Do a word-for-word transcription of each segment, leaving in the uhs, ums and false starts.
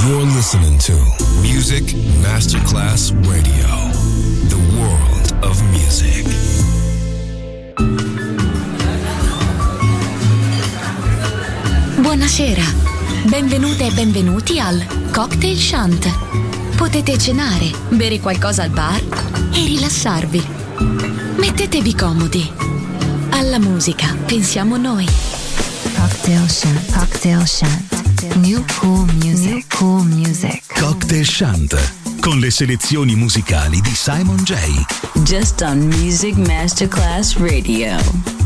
You're listening to Music Masterclass Radio, the world of music. Buonasera, benvenute e benvenuti al Cocktail Shant. Potete cenare, bere qualcosa al bar e rilassarvi. Mettetevi comodi. Alla musica pensiamo noi. Cocktail Shant, Cocktail Shant. New cool music, New cool music. Cocktail Shant, con le selezioni musicali di Simon J. Just on Music Masterclass Radio.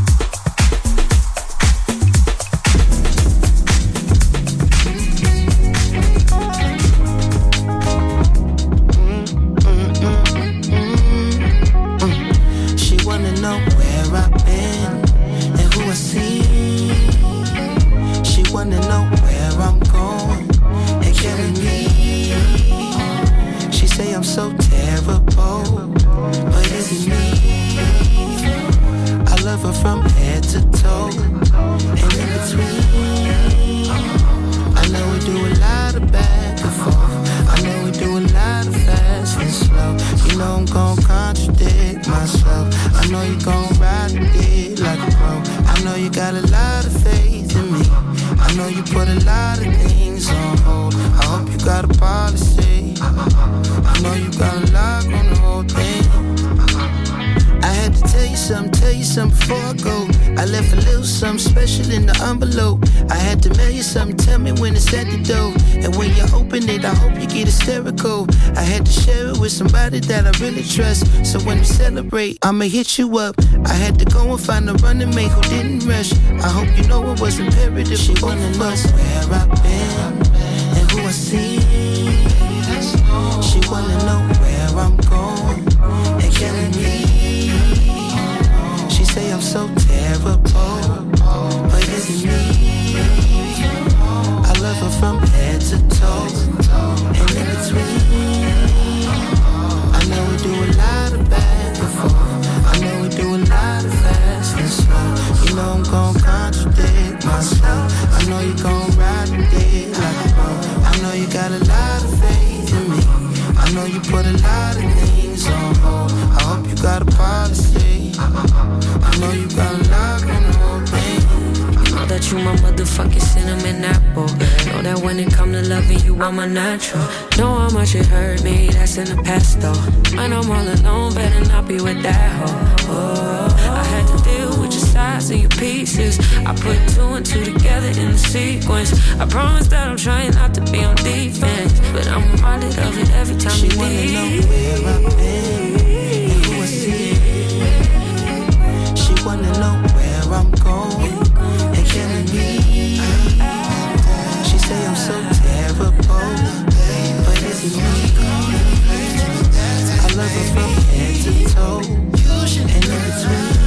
Somebody that I really trust. So when we celebrate, I'ma hit you up. I had to go and find a running mate who didn't rush. I hope you know it was imperative. She wanna know where I've been and who I see. She wanna know where I'm going and can me. She say I'm so terrible, but it's me. I love her from head to toe and in between. I know we do a lot of back and forth. I know we do a lot of fast and slow. You know I'm gon' contradict myself. I know you gon' ride the dick like a pro. I know you got a lot of faith in me. I know you put a lot of things on hold. I hope you got a policy. I know you got a lock on the whole thing. Know that you my motherfucking cinnamon apple. Know that when it come to loving you, I'm a natural. Know how much it hurt me, that's in the past though. When I'm all alone, better not be with that hoe. Oh, I had to deal with your sides and your pieces. I put two and two together in the sequence. I promise that I'm trying not to be on defense, but I'm reminded of it every time she you wanna leave. know where I've been and who I see. She wanna know where I'm going and killing me. She say I'm so terrible, but it's me. I love her from head to toe and in between.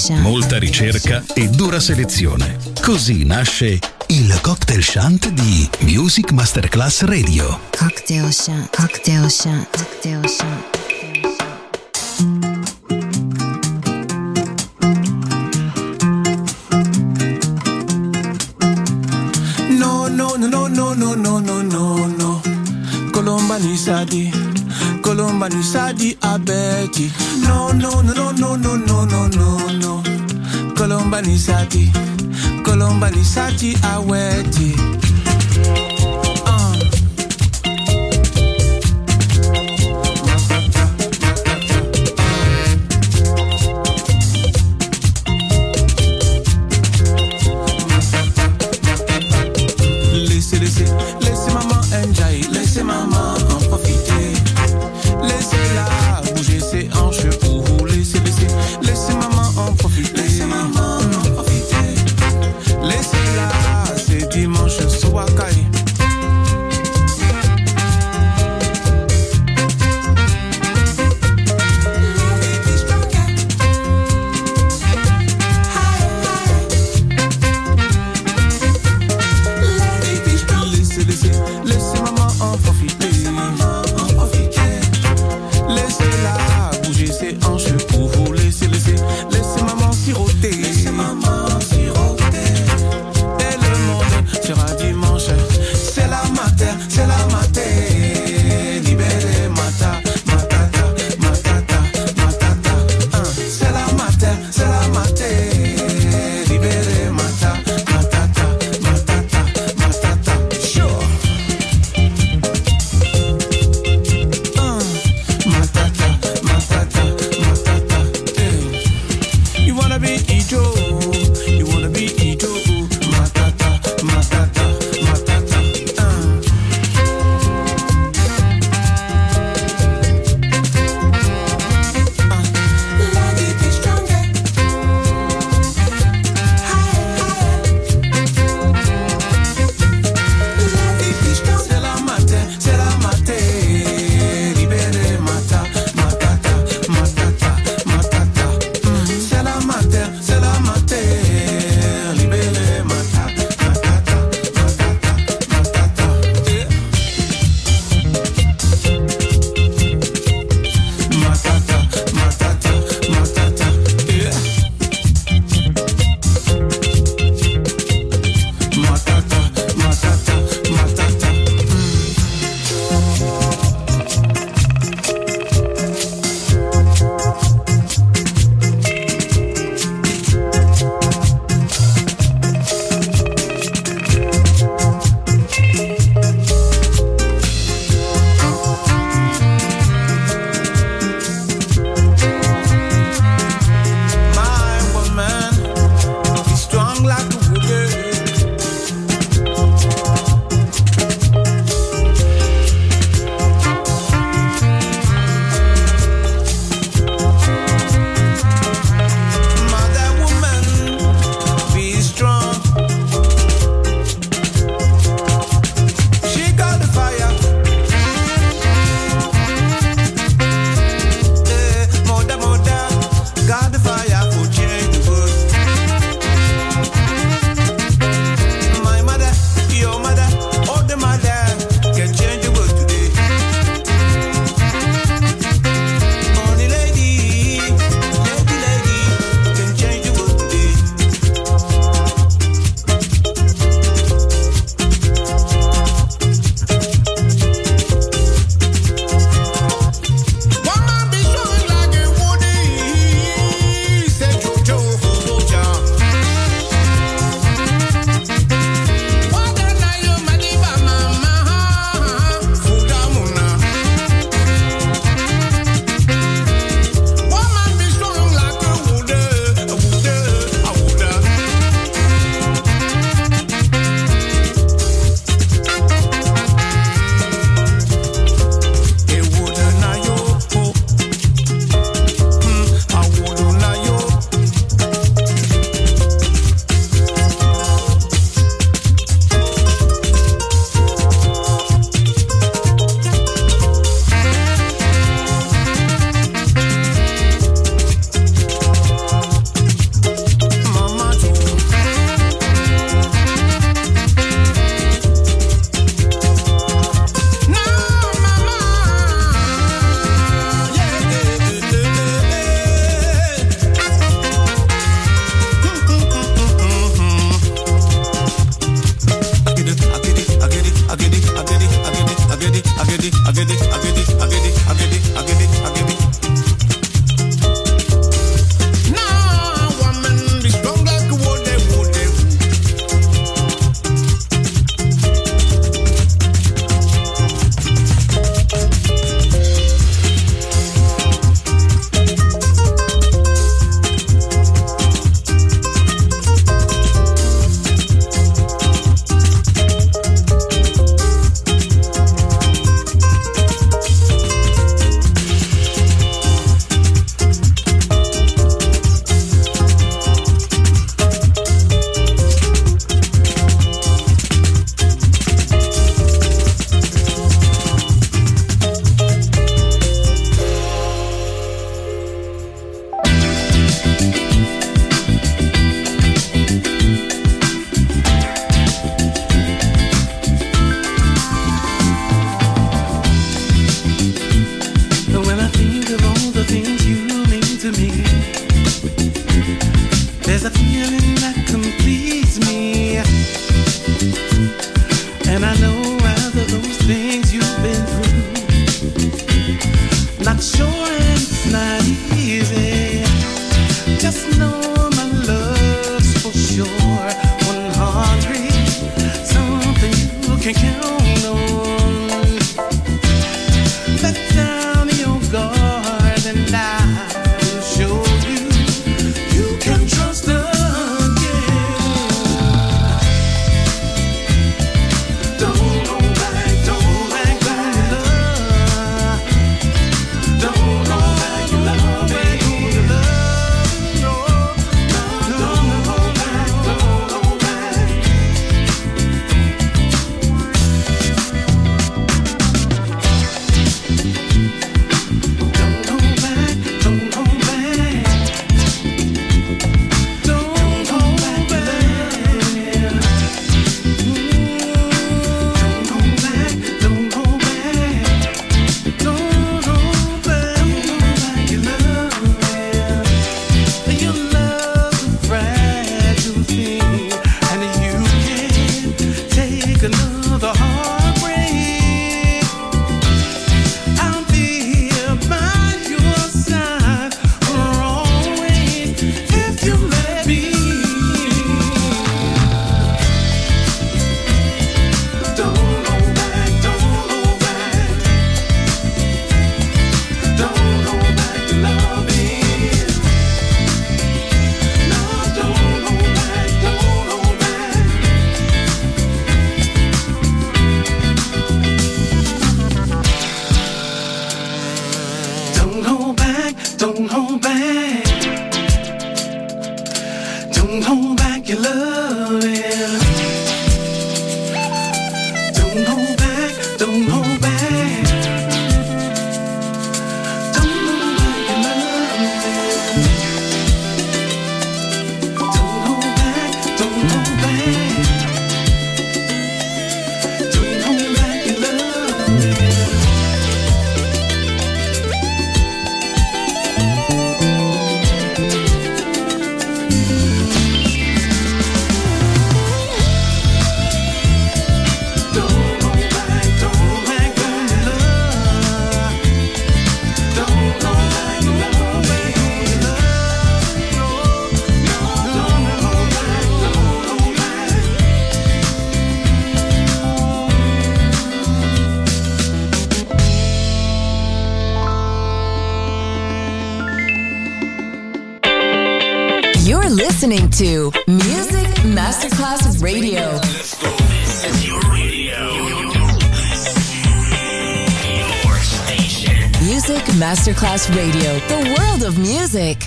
Ocean. Molta ricerca e dura selezione. Così nasce il cocktail shant di Music Masterclass Radio. Cocktail Shant, Cocktail Shant, Cocktail Shant. No, no, no, no, no, no, no, no, no, no. Colomba ni sadi, Colomba ni sadi abeti. No, no, no, no, no, no, no, no, no, no. Colomba ni sadi, Colomba ni sadi aweti. can count on. Let down your guard and I will show you you can trust again. Don't go back, don't back, back love. Don't go back, you love me. No, no, don't go back, don't go back. Don't go back, don't go back. Don't go back, back. Don't go back, don't go back. Don't go back, you love me. Your love's a fragile thing, and you can't take another heartbreak. I'll be here by your side always if you let me. Don't go back, don't go back. Don't go back to loving. No, don't go back, don't go back. Don't go back, don't go back. Don't hold back your loving. Don't hold back, don't hold back. Don't hold back your loving. Don't hold back, don't hold back. Don't hold back your loving. Don't hold back, don't hold back your love. Don't hold back your love, back your love. Don't hold back, don't hold back. You're listening to Music Masterclass Radio. This is your radio. Your station. Music Masterclass Radio. The world of music.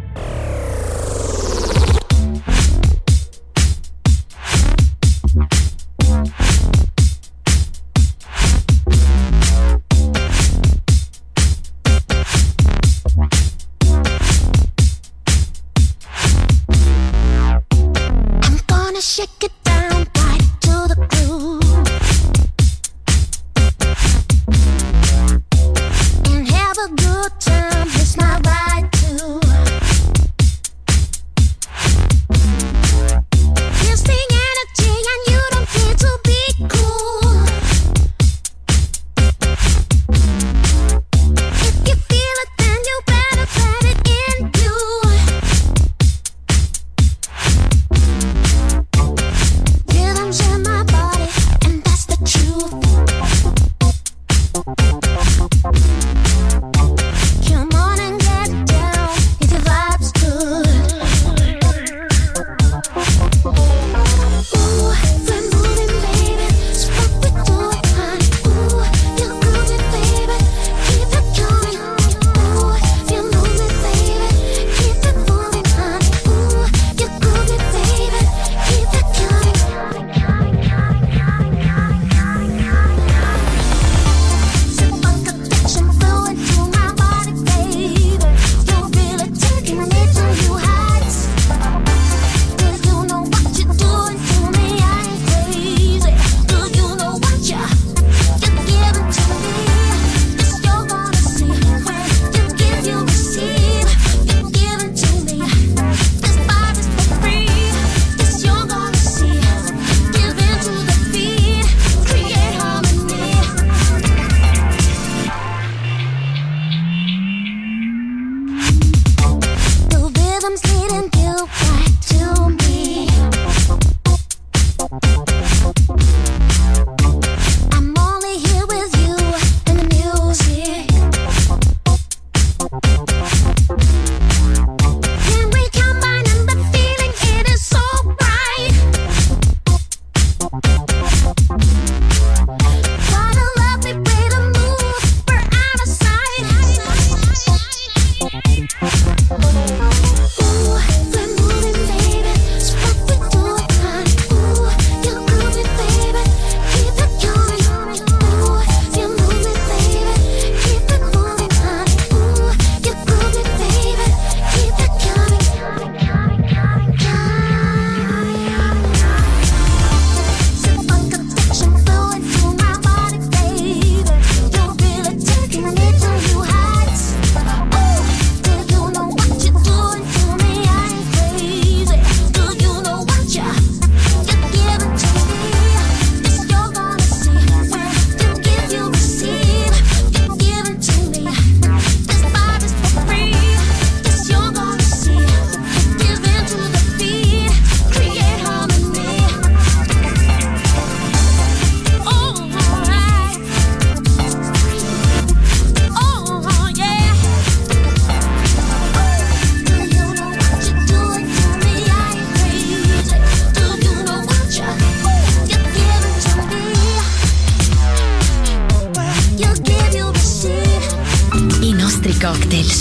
I'm gonna shake it down right to the groove and have a good time. It's my right to.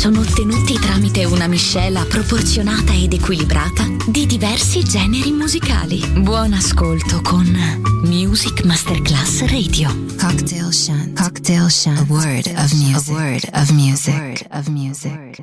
sono ottenuti tramite una miscela proporzionata ed equilibrata di diversi generi musicali. Buon ascolto con Music Masterclass Radio. Cocktail Shant. Cocktail Shant. A word of music. A word of music. A word of music.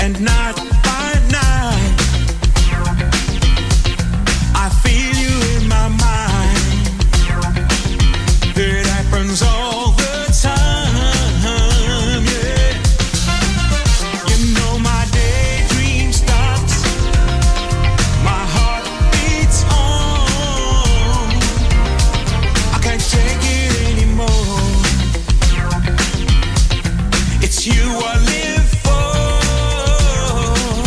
and night by night I feel you in my mind. It happens all the time, yeah. You know my daydream stops, my heart beats on. I can't take it anymore. It's you I live for.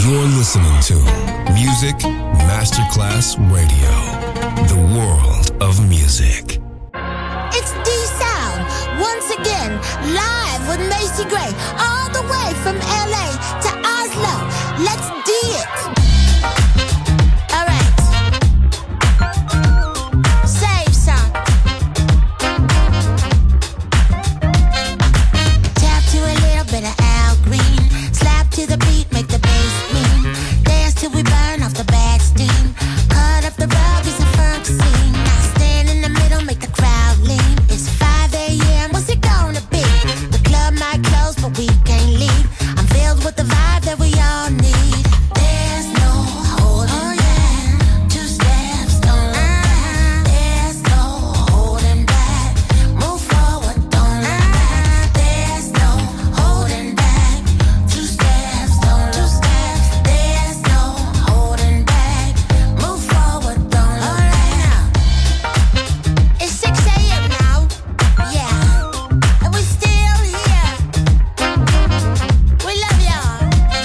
You're listening to Music Masterclass Radio, the world of music. It's D-Sound, once again, live with Macy Gray, all the way from L A to Oslo. Let's do it. All right. Save some. Tap to a little bit of Al Green. Slap to the beat, make the bass mean. Dance till we burn off the bad steam. Cut up the rug, it's a funk scene. Now stand in the middle, make the crowd lean. It's five a.m., what's it gonna be? The club might close, but we can't leave. I'm filled with the vibe that we all need. There's no holding back. Two steps, don't look back. There's no holding back. Move forward, don't look back. There's no holding back. Two steps, don't look back. There's no holding back. Move forward, don't look back. It's six a.m. now, yeah, and we still here. We love y'all.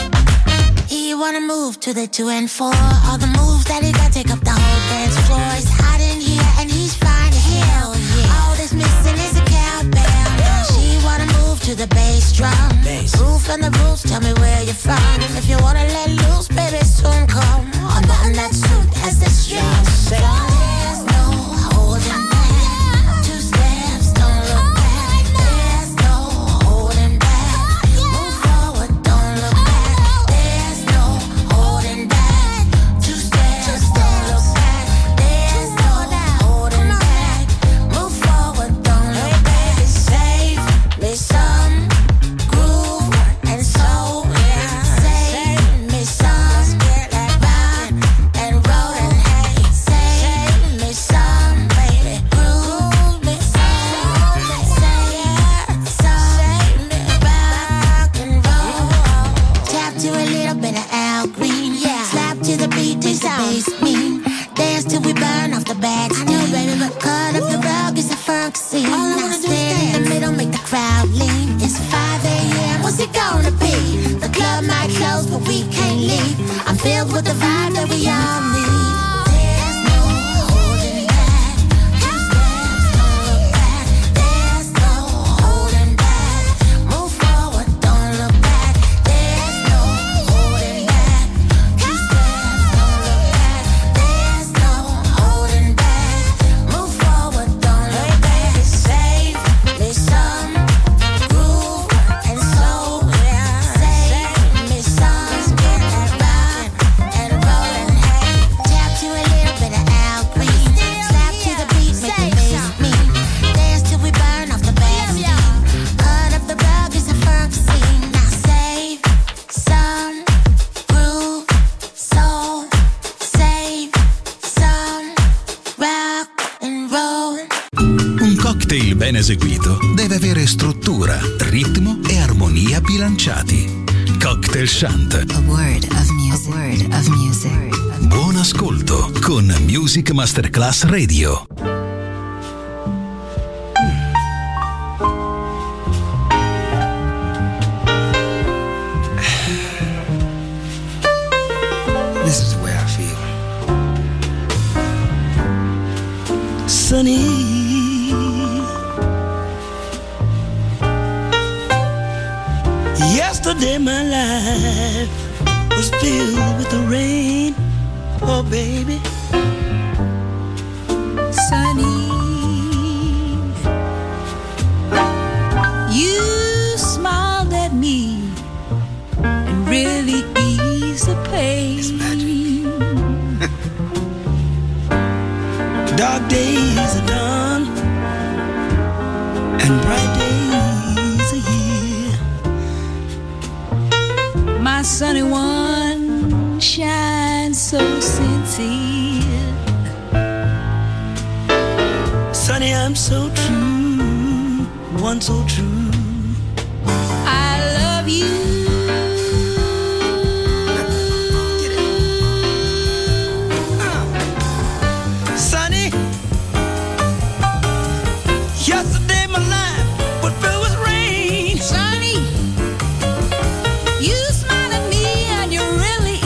He wanna move to the two and four. All the moves that he got take up the whole dance floor. It's hot in here and he's fine, hell yeah. All that's missing is a cowbell. She wanna move to the bass drum. Roof and the roots, tell me where you're from. If you wanna let loose, baby, soon come. Unbutton that suit as the strings drum. There's no holding back. Two steps, don't look back. There's no holding back. Move forward, don't look back. There's no holding back. Two steps, don't look back. There's no holding back. Move forward, don't look back. Save me some groove and soul. Save me some rock and roll. Hey, save me some, baby. Groove me some. Save some rock and roll. Tap to a little bit of Al Green. Yeah. Slap to the beat, make the bass mean. Dance till we burn off the bad steam. I know, baby, but cut up the rug, it's a funk scene. All I wanna do is stand in the middle, make the crowd lean. It's five a.m., what's it gonna be? The club might close, but we can't leave. I'm filled with the vibe that we all need. There's no holding back. Two steps, don't look back. There's no holding back. Move forward, don't look back. There's no holding back. Two steps, don't look back. There's no holding back. Move forward, don't look back. Save me some groove and soul. Save me some rock and roll. Hey, tap to a little bit of Al Green. Slap to the beat, make the bass mean. Dance till we burn off the bad steam. Cut up the rug, it's a funk scene. Now save some groove, soul. Save some rock and roll. Un cocktail ben eseguito deve avere struttura, ritmo e armonia bilanciati. Cocktail Shant. A word of music. A word of music. Buon ascolto con Music Masterclass Radio. This is the way I feel. Sunny. Yesterday my life was filled with the rain. Oh baby. Sunny, you smiled at me and really eased the pain. Dark days are done and bright days are here. My sunny one shines so sincere. Sunny, I'm so true, one so true. I love you. Sunny, yesterday my life was filled with rain. Sunny, you smile at me and you really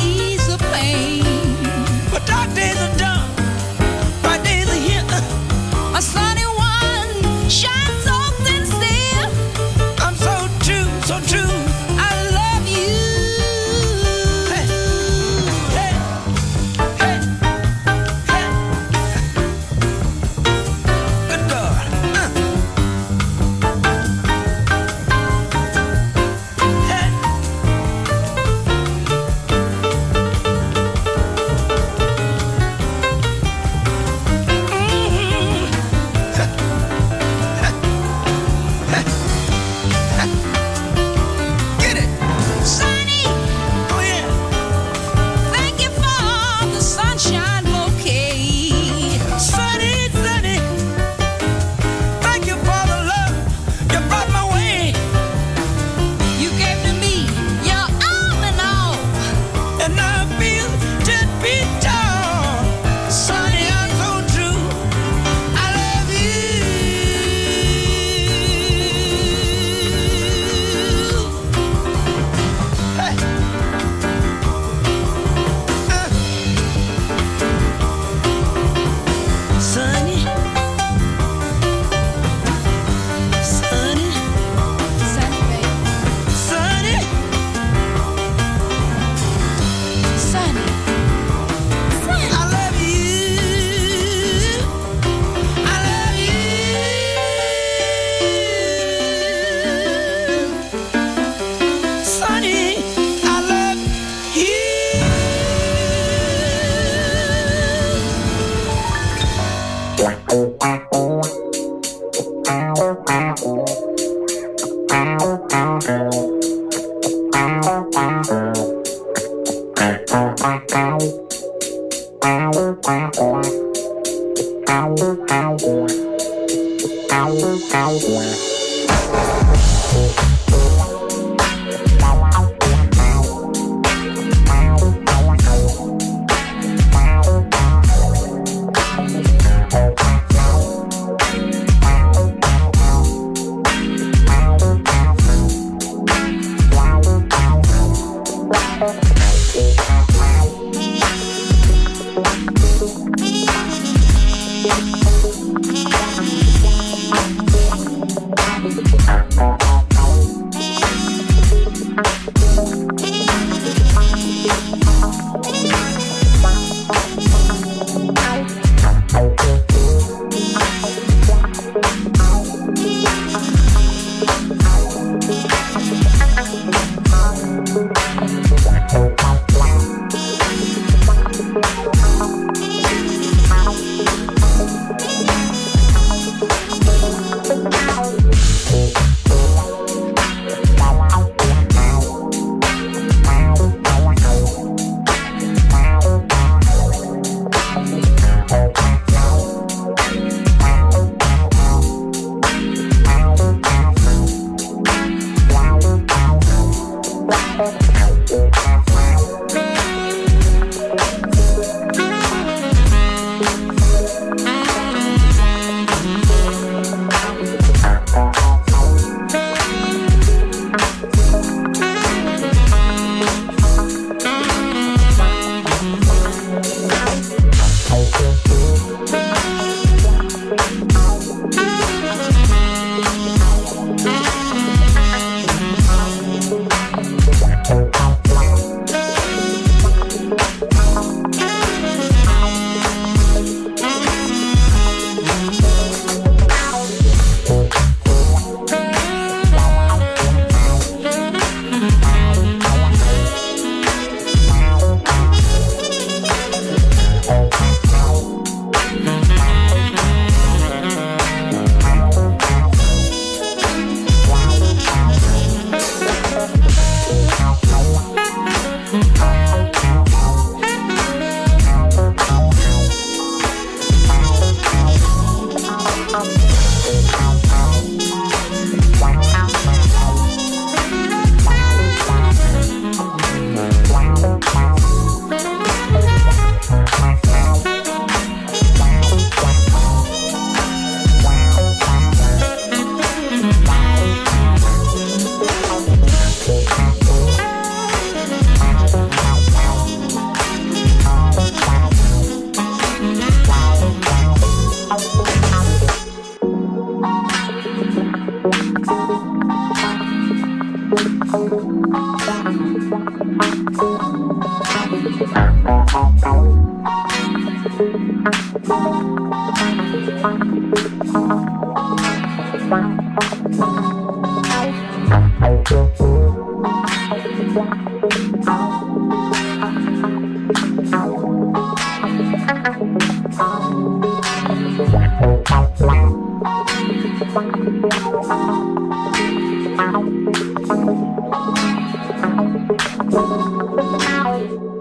Ow.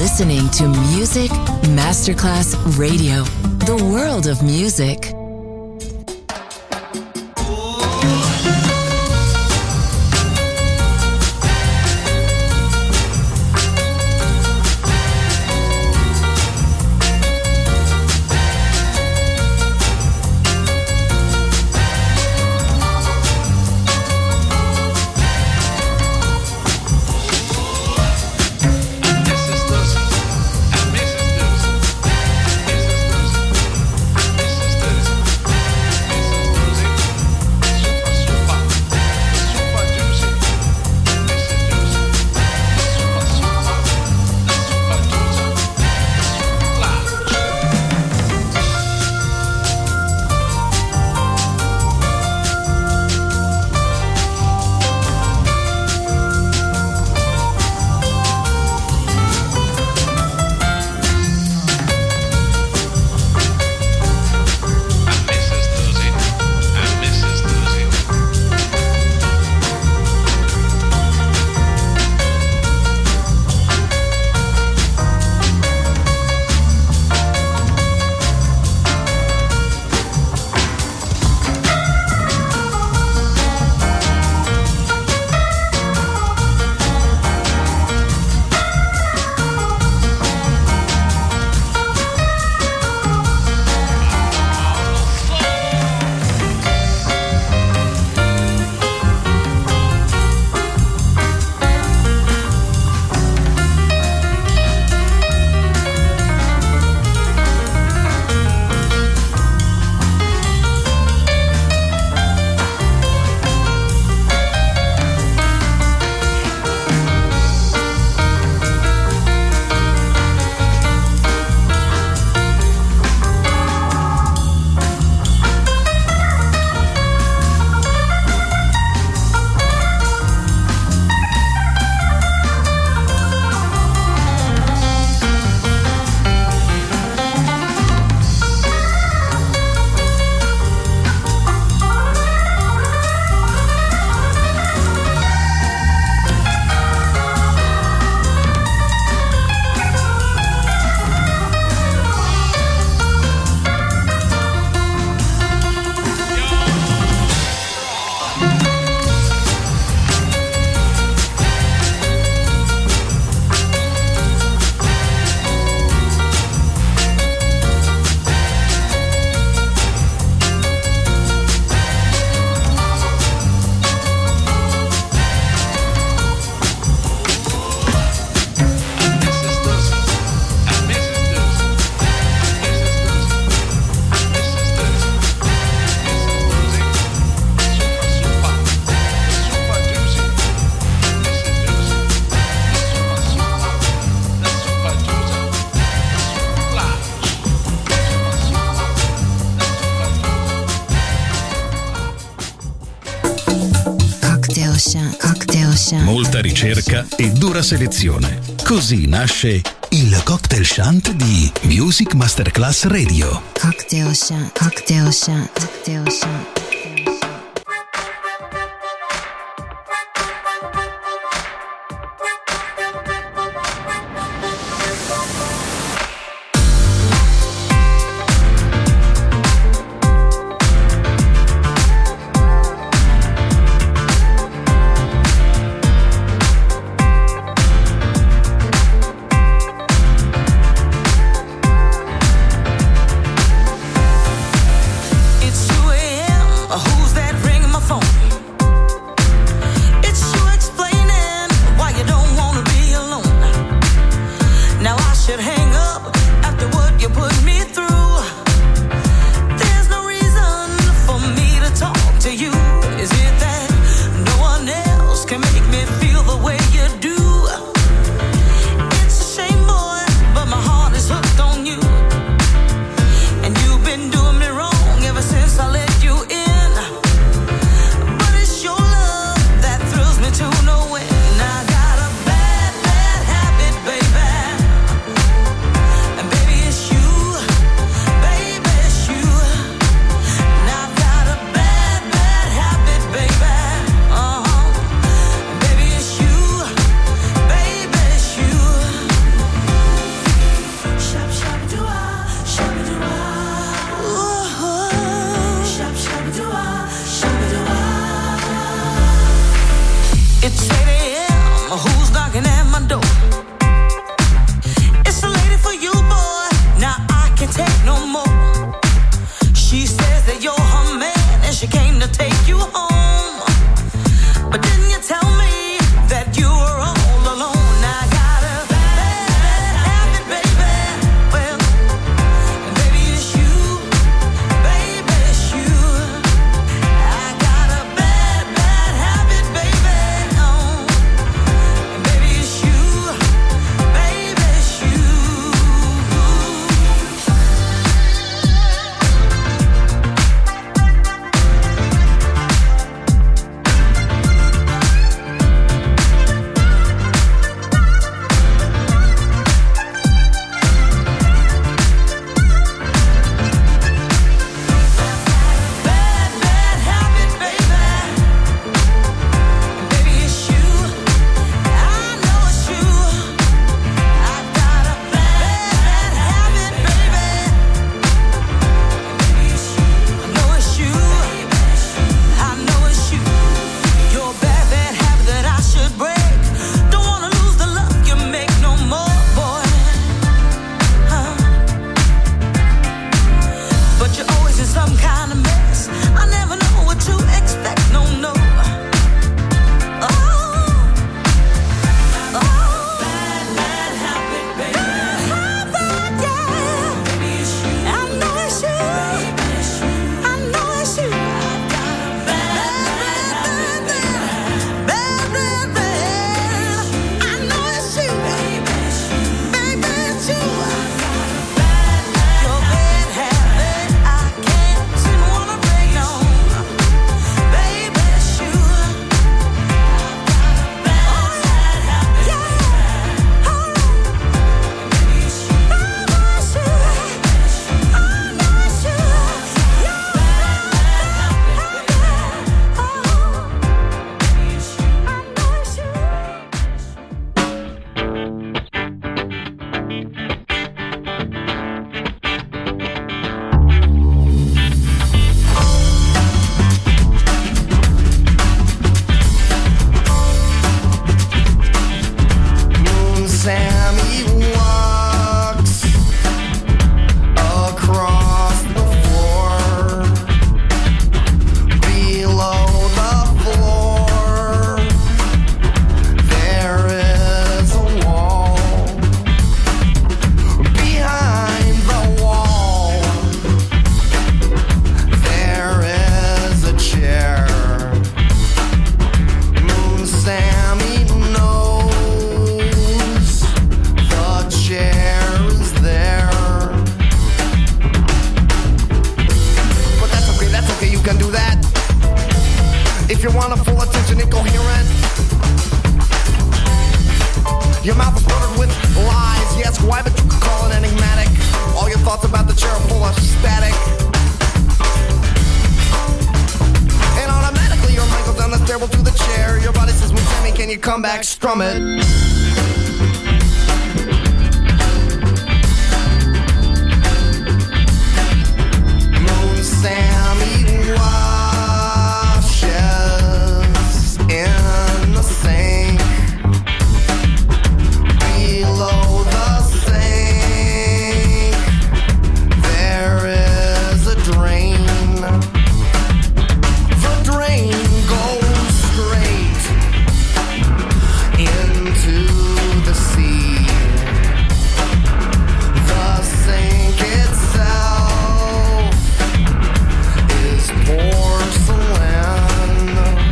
listening to Music Masterclass Radio, the world of music. Molta ricerca e dura selezione. Così nasce il Cocktail Shant di Music Masterclass Radio. Cocktail Shant, Cocktail Shant, Cocktail Shant. It's two a.m. with lies. You ask why, but you could call it enigmatic. All your thoughts about the chair are full of static. And automatically your mind goes down the stairwell to the chair. Your body says, well, Jimmy, can you come back, strum it? Moon Sammy washes in the sink. Below the sink there is a drain. The drain goes straight into the sea. The sink itself is porcelain.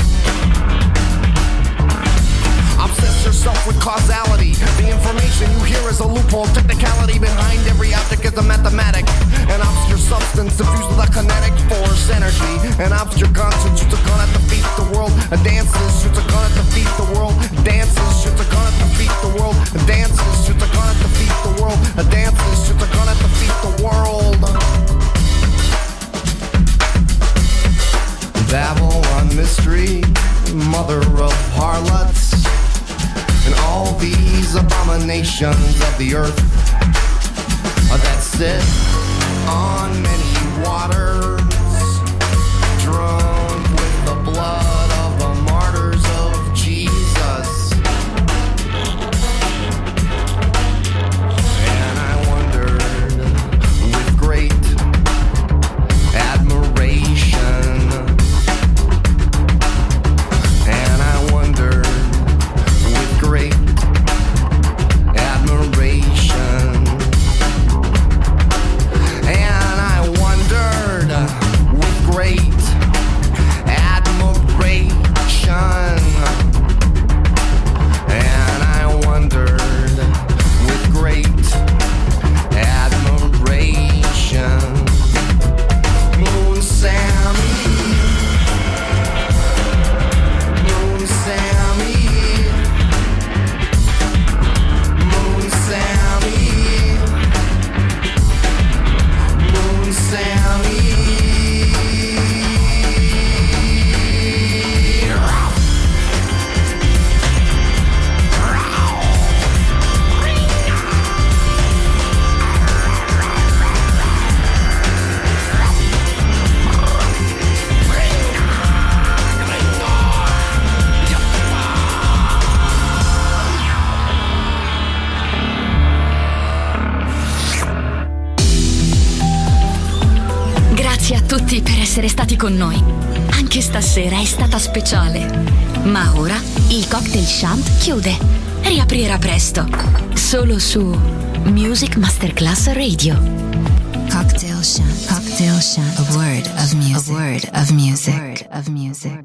Obsess yourself with causality. The information you hear is a loophole. Technicality behind every object is a mathematic. An obscure substance diffused with a kinetic force energy. An obscure conscience shoots a gun at defeat the world. A dances shoots a gun at defeat the world. Dances shoots a gun at defeat the world. Dances shoots a gun at defeat the world. A dances shoots a gun at defeat the world. Babylon mystery, mother of harlots, and all these abominations of the earth that sit on many waters, drunk with the blood of the martyrs of Jesus. And I wondered with great admiration, and I wondered with great admiration, and I wondered with great admiration, and I wondered with great admiration. Moon Sammy, Moon Sammy, Moon Sammy, Moon Sammy. Grazie a tutti per essere stati con noi. Anche stasera è stata speciale. Ma ora il Cocktail Shant chiude. Riaprirà presto. Solo su Music Masterclass Radio. Cocktail Shant. Cocktail Shant. A word of music. A word of music. A word of music.